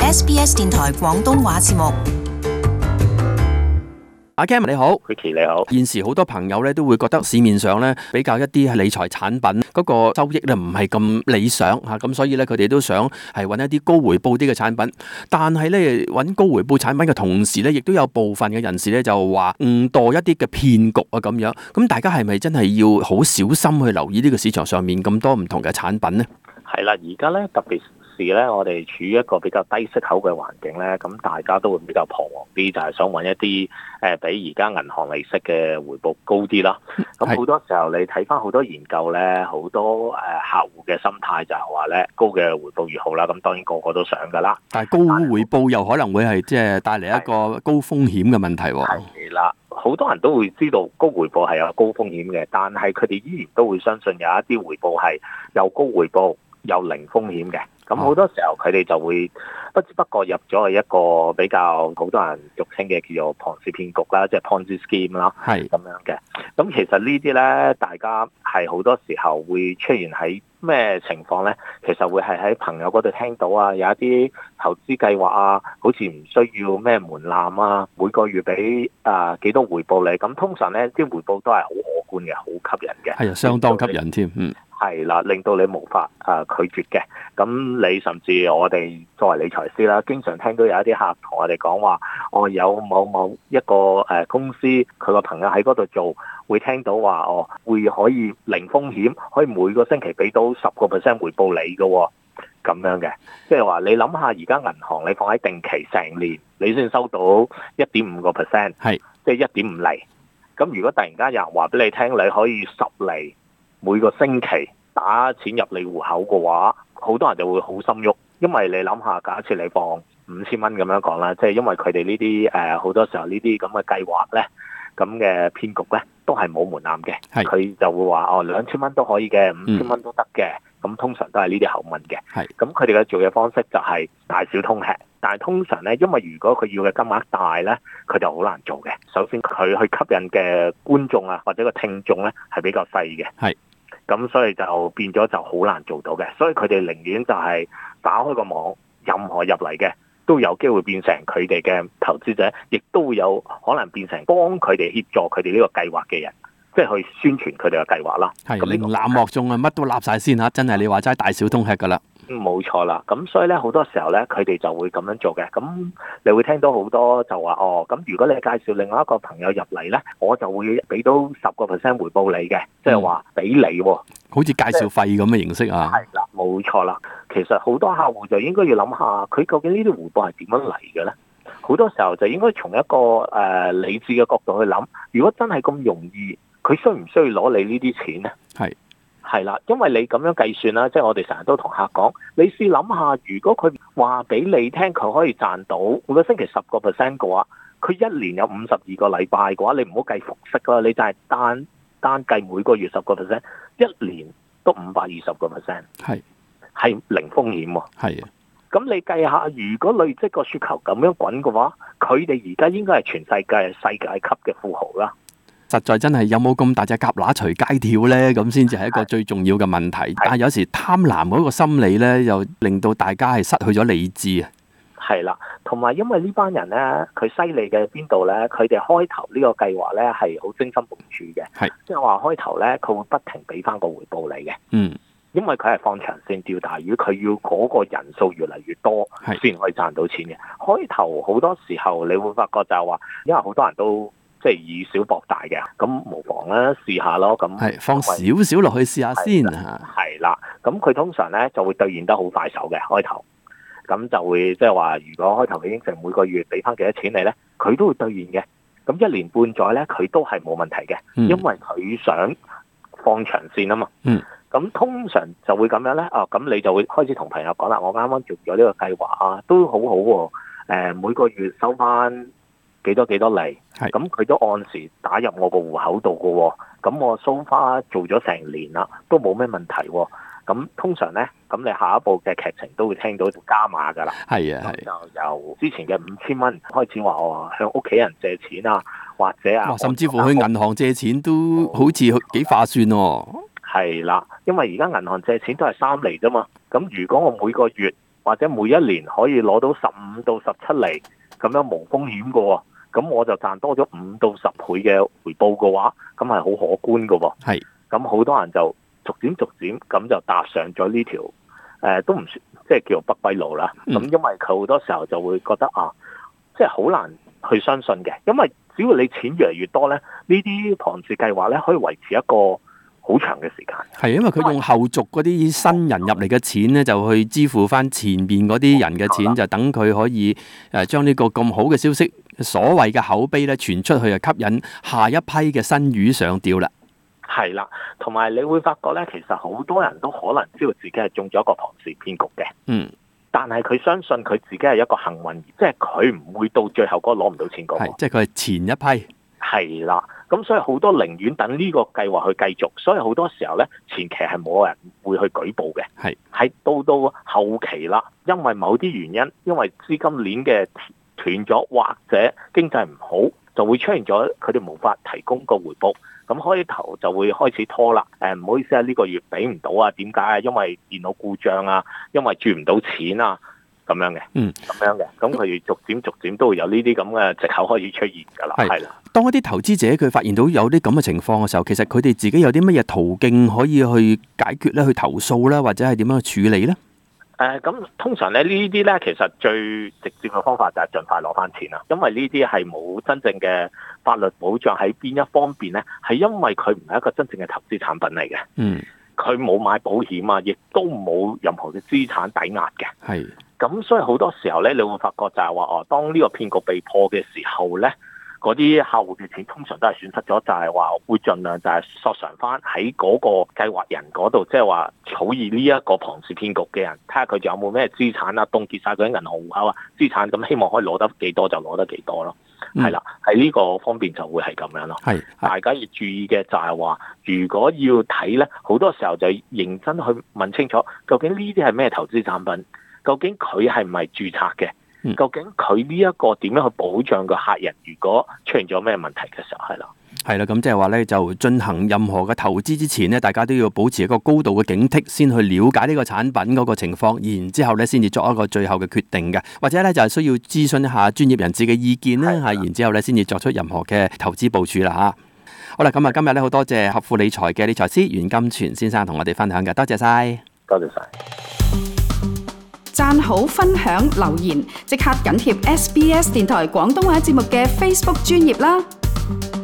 SBS 電台廣東話節目。 阿 Cam 你好 ，Ricky 你好。 現時好多朋友咧都會覺得市面上咧比較一啲係理財產品嗰個收益咧唔係咁理想嚇，咁所以咧佢哋都想係揾一啲高回報啲嘅產品。但係咧揾高回報產品嘅同時咧，亦都有部分嘅人士咧就話誤墮一啲嘅騙局啊咁樣。咁大家係咪真係要好小心去留意呢個市場上面咁多唔同嘅產品呢？ 係啦，而家咧特別是咧，我哋處於一個比較低息口嘅環境咧，咁大家都會比較彷徨啲，就係想揾一啲比而家銀行利息嘅回報高啲啦。咁好多時候你睇翻好多研究咧，好多客戶嘅心態就係話咧，高嘅回報越好啦。咁當然個個都想噶啦， 但係高回報又可能會係即係帶嚟一個高風險嘅問題喎。 係啦，好多人都會知道高回報係有高風險嘅，但係佢哋依然都會相信有一啲回報係有高回報有零風險嘅。咁好多時候佢哋就會不知不覺入咗去一個比較好多人俗稱嘅叫做龐氏騙局啦，即係 Ponzi scheme 啦，係咁樣嘅。咁其實呢啲咧，大家係好多時候會出現喺咩情況咧？其實會係喺朋友嗰度聽到啊，有一啲投資計劃啊，好似唔需要咩門檻啊，每個月俾幾多回報你。咁通常咧啲回報都係好可觀嘅，好吸引嘅， 係啊，相當吸引添， 係啦，令到你無法拒絕嘅。咁你甚至我哋作為理財師啦，經常聽到有一啲客同我哋講話，有某一個公司佢個朋友喺嗰度做，會聽到話會可以零風險，可以每個星期俾到10% 回報你嘅，咁樣嘅。即係話你諗下，而家銀行你放喺定期成年，你先收到1.5%，係即係1.5厘。咁如果突然間有人話俾你聽，你可以10厘。每個星期打錢入你戶口嘅話，好多人就會好心喐，因為你諗下，假設你放5000蚊咁樣講啦，即係因為佢哋呢啲好多時候呢啲咁嘅計劃咧，咁嘅騙局咧都係冇門檻嘅，佢就會話2000蚊都可以嘅，5000蚊都得嘅，咁通常都係呢啲口吻嘅，咁佢哋嘅做嘅方式就係大小通吃。但係通常咧，因為如果佢要嘅金額大咧，佢就好難做嘅。首先佢去吸引嘅觀眾啊，或者個聽眾咧係比較細嘅，咁所以就變咗就好難做到嘅。所以佢哋寧願就係打開個網，任何入嚟嘅都有機會變成佢哋嘅投資者，亦都會有可能變成幫佢哋協助佢哋呢個計劃嘅人，即係去宣傳佢哋嘅計劃啦。 係寧濫莫縱啊，乜都立晒先嚇，真係你話齋大小通吃㗎啦。 冇錯啦，咁所以咧好多時候咧，佢哋就會咁樣做嘅。咁你會聽到好多就話咁如果你介紹另外一個朋友入嚟咧，我就會俾到10% 回報你嘅，即係話俾你喎， 好似介紹費咁嘅形式啊。 係啦，冇錯啦。其實好多客戶就應該要諗下，佢究竟呢啲回報係點樣嚟嘅咧？好多時候就應該從一個理智嘅角度去諗，如果真係咁容易，佢需唔需要攞你呢啲錢咧？係啦，因為你咁樣計算啦，即係我哋成日都同客講，你試諗下，如果佢話俾你聽佢可以賺到每個星期10% 嘅話，佢一年有52個禮拜嘅話，你唔好計復息啦，你就係單計每個月10%，一年都520%，係零風險喎。係啊，咁你計下，如果累積個雪球咁樣滾嘅話，佢哋而家應該係全世界級嘅富豪啦。 實在真係有冇咁大隻蛤乸隨街跳呢？咁先至係一個最重要嘅問題。但係有時貪婪嗰個心理呢，又令到大家係失去咗理智啊。 係啦，同埋因為呢班人呢，佢犀利嘅邊度呢？佢哋開頭呢個計劃呢係好精心部署嘅，即係話開頭呢，佢會不停俾翻個回報你嘅。因為佢係放長線釣大魚，佢要嗰個人數越嚟越多，先可以賺到錢嘅。開頭好多時候你會發覺就係話，因為好多人都即係以小博大嘅，咁無妨啦，試下咯。咁放少少落去試下先。 係啦，咁佢通常咧就會兌現得好快手嘅開頭，咁就會即係話，如果開頭佢應承每個月俾翻幾多錢你咧，佢都會兌現嘅。咁1年半載咧，佢都係冇問題嘅，因為佢想放長線啊嘛。咁通常就會咁樣咧，咁你就會開始同朋友講啦，我啱啱做咗呢個計劃啊，都好好喎。每個月收翻幾多厘，咁佢都按時打入我個戶口度嘅喎，咁我so far做咗成年啦，都冇咩問題喎。咁通常咧，咁你下一步嘅劇情都會聽到加碼㗎啦。就由之前嘅5000蚊開始話我向屋企人借錢啊，或者甚至乎去銀行借錢都好似幾划算喎。 係啦，因為而家銀行借錢都係3厘啫嘛。咁如果我每個月或或者每一年可以攞到15到17厘咁樣無風險嘅喎，咁我就賺多咗5到10倍嘅回報嘅話，咁係好可觀嘅喎。 係， 咁好多人就逐漸咁就踏上咗呢條都唔算即係叫做不歸路啦。咁因為佢好多時候就會覺得即係好難去相信嘅，因為只要你錢越嚟越多咧，呢啲龐氏計劃咧可以維持一個好長嘅時間。係因為佢用後續嗰啲新人入嚟嘅錢咧，就去支付翻前邊嗰啲人嘅錢，就等佢可以將呢個咁好嘅消息，所謂嘅口碑咧傳出去，就吸引下一批嘅新魚上釣啦。係啦，同埋你會發覺咧，其實好多人都可能知道自己係中咗一個龐氏騙局嘅。但係佢相信佢自己係一個幸運兒，即係佢唔會到最後嗰個攞唔到錢嗰個。 即係佢係前一批。 係啦，咁所以好多寧願等呢個計劃去繼續，所以好多時候咧前期係冇人會去舉報嘅。係到後期啦，因為某啲原因，因為資金鏈嘅斷咗或者經濟唔好，就會出現咗佢哋無法提供個回報。咁開頭就會開始拖啦，唔好意思啊，呢個月俾唔到啊，點解啊？因為電腦故障啊，因為轉唔到錢啊，咁樣嘅，咁樣嘅，咁佢逐漸都會有呢啲咁嘅藉口開始出現㗎啦，係啦。 當一啲投資者佢發現到有啲咁嘅情況嘅時候，其實佢哋自己有啲乜嘢途徑可以去解決咧，去投訴啦，或者係點樣去處理咧？ 咁通常咧呢啲咧，其實最直接嘅方法就係盡快攞翻錢啦，因為呢啲係冇真正嘅法律保障喺邊一方面咧，係因為佢唔係一個真正嘅投資產品嚟嘅。佢冇買保險啊，亦都冇任何嘅資產抵押嘅。咁所以好多時候咧，你會發覺就係話當呢個騙局被破嘅時候咧，嗰啲客戶嘅錢通常都係損失咗，就係話會盡量就係索償翻喺嗰個計劃人嗰度，即係話草擬呢一個龐氏騙局嘅人，睇下佢仲有冇咩資產啊，凍結晒佢啲銀行戶口啊資產，咁希望可以攞得幾多就攞得幾多咯。係啦，喺呢個方面就會係咁樣咯。大家要注意嘅就係話，如果要睇咧，好多時候就認真去問清楚，究竟呢啲係咩投資產品？究竟佢係唔係註冊嘅？究竟佢呢一個點樣去保障個客人？如果出現咗咩問題嘅時候，係啦，咁即係話咧，就進行任何嘅投資之前咧，大家都要保持一個高度嘅警惕，先去了解呢個產品嗰個情況，然之後咧先至作一個最後嘅決定嘅，或者咧就係需要諮詢一下專業人士嘅意見啦，然之後咧先至作出任何嘅投資部署啦嚇。好啦，咁啊今日咧好多謝合富理財嘅理財師袁金泉先生同我哋分享嘅，多謝晒。多謝晒。 讚好、分享、留言，即刻緊貼SBS 電台廣東話節目嘅 Facebook 專頁啦！